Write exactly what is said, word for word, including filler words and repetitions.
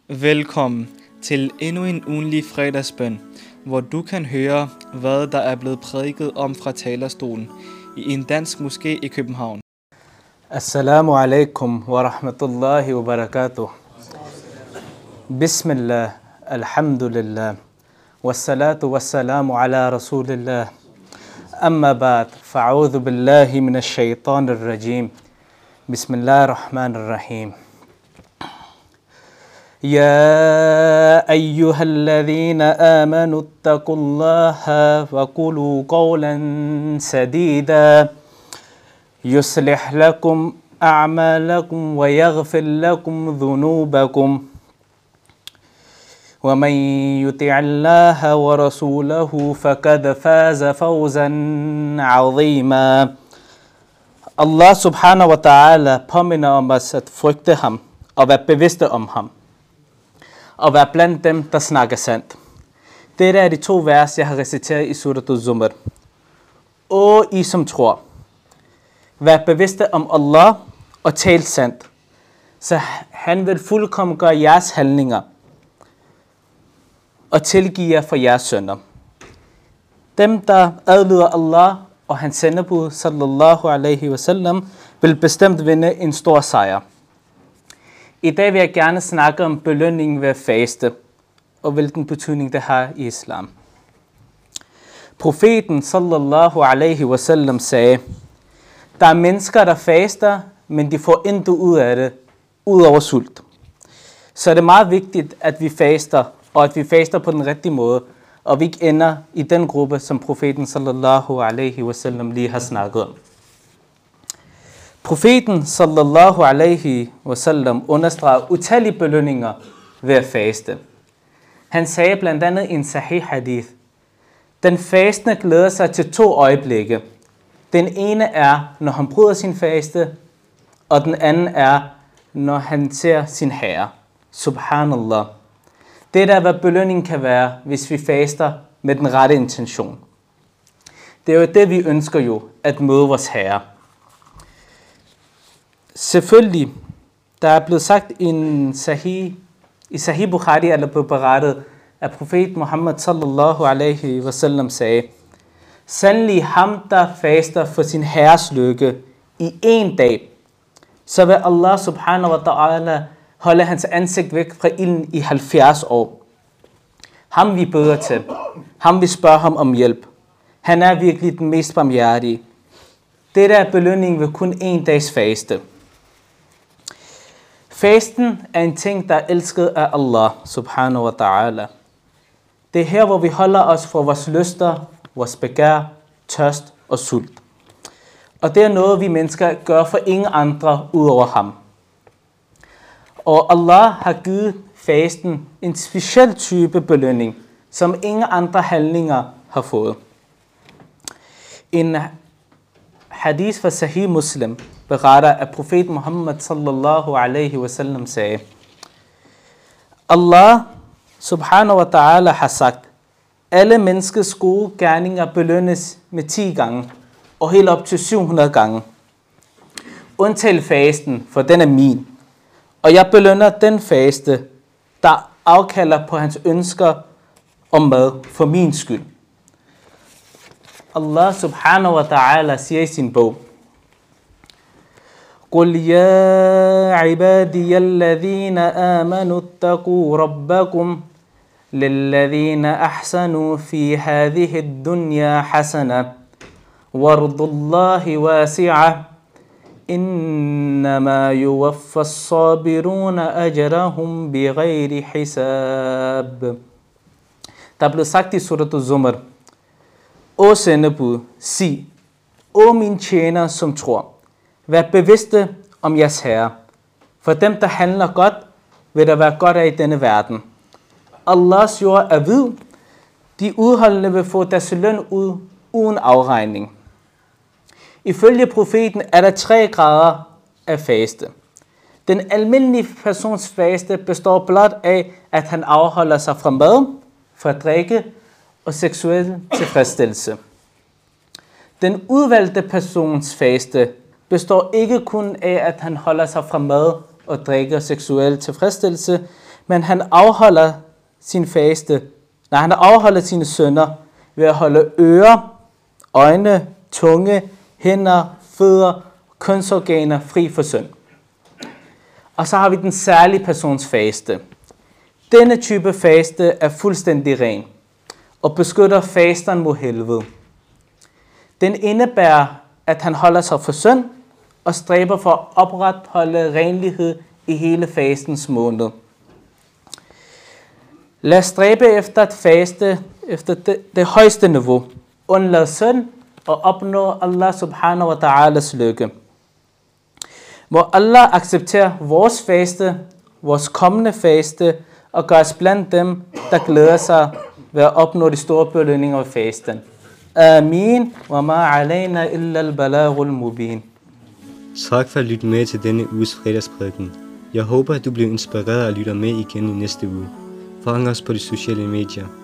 Velkommen til endnu en ugenlig fredagsbøn, hvor du kan høre, hvad der er blevet prædiket om fra talerstolen i en dansk moské i København. Assalamu alaikum wa rahmatullahi wa barakatuh. Bismillah, alhamdulillah, wassalatu wassalamu ala rasulillah. Amma ba'd, fa'udhu billahi minash shaitanir rajim. Bismillahir rahmanir rahim. يا أيها الذين آمنوا اتقوا الله وقولوا قولا سديدا يصلح لكم أعمالكم ويغفر لكم ذنوبكم ومن يطع الله ورسوله فقد فاز فوزا عظيما. Allah subhanahu wa ta'ala påminder om os at frygte ham og være bevidste om ham og være blandt dem, der snakker sandt. Dette er de to vers, jeg har reciteret i Surat al-Zumar. O I som tror, vær bevidste om Allah og tal sandt, så han vil fuldkommen gøre jeres handlinger og tilgive jer for jeres synder. Dem, der adlyder Allah og hans sendebud, sallallahu alaihi wasallam, vil bestemt vinde en stor sejr. I dag vil jeg gerne snakke om belønningen ved at faste, og hvilken betydning det har i islam. Profeten sallallahu alaihi wasallam sagde, der er mennesker, der faster, men de får intet ud af det, ud over sult. Så er det meget vigtigt, at vi faster, og at vi faster på den rigtige måde, og vi ikke ender i den gruppe, som profeten sallallahu alaihi wasallam lige har snakket om. Profeten sallallahu alaihi wasallam understreger utallige belønninger ved at faste. Han sagde blandt andet i en sahih hadith, den fastende glæder sig til to øjeblikke. Den ene er, når han bryder sin faste, og den anden er, når han ser sin herre. Subhanallah. Det er, hvad belønningen kan være, hvis vi faster med den rette intention. Det er jo det, vi ønsker jo, at møde vores herre. Selvfølgelig, der er blevet sagt i en sahih, i Sahih Bukhari, eller blevet berettet, at profet Muhammad sallallahu alaihi wasallam sagde, sandelig ham, der faster for sin herres lykke i en dag, så vil Allah subhanahu wa ta'ala holde hans ansigt væk fra ilden i halvfjerds år. Ham vi beder til, ham vi spørger ham om hjælp. Han er virkelig den mest barmhjertige. Det der belønning ved kun en dags faste. Fasten er en ting, der er elsket af Allah subhanahu wa ta'ala. Det er her, hvor vi holder os fra vores lyster, vores begær, tørst og sult. Og det er noget, vi mennesker gør for ingen andre udover ham. Og Allah har givet fasten en speciel type belønning, som ingen andre handlinger har fået. En hadith fra Sahih Muslim beretter, at profet Muhammad sallallahu alaihi wasallam sagde, Allah subhanahu wa ta'ala har sagt, alle menneskers gode gerninger belønnes med ti gange, og helt op til syv hundrede gange. Undtal fasten, for den er min. Og jeg belønner den faste, der afkalder på hans ønsker om mad for min skyld. Allah subhanahu wa ta'ala siger i sin bog, قل يا عبادي الذين آمنوا اتقوا ربكم للذين أحسنوا في هذه الدنيا حسنة وارض الله واسعة إنما يوفى الصابرون أجرهم بغير حساب. Der blev sagt i Surat al-Zumar, O sendebud, sig, O min tjener som tror, vær bevidste om jeres herre. For dem, der handler godt, vil der være godt af i denne verden. Allahs jord er hvid. De udholdende vil få deres løn ud uden afregning. Ifølge profeten er der tre grader af faste. Den almindelige persons faste består blot af, at han afholder sig fra mad, fra drikke og seksuel tilfredsstillelse. Den udvalgte persons faste består ikke kun af, at han holder sig fra mad og drikker seksuel tilfredsstillelse, Men han afholder sin faste, når han afholder sine synder ved at holde ører, øjne, tunge, hænder, fødder, kønsorganer fri for synd. Og så har vi den særlige persons faste. Denne type faste er fuldstændig ren og beskytter fasteren mod helvede. Den indebærer, at han holder sig for synd og stræber for at opretholde renlighed i hele fastens måned. Lad os stræbe efter at faste efter det, det højeste niveau, undlade synd og opnå Allah subhanahu wa ta'alas lykke. Må Allah acceptere vores faste, vores kommende faste, og gøre os blandt dem, der glæder sig ved at opnå de store belønninger af fasten. Amin, wa ma alayna illa al-balagul mubin. Tak for at lytte med til denne uges fredagsprædiken. Jeg håber, at du bliver inspireret og lytter med igen i næste uge. Fang os på de sociale medier.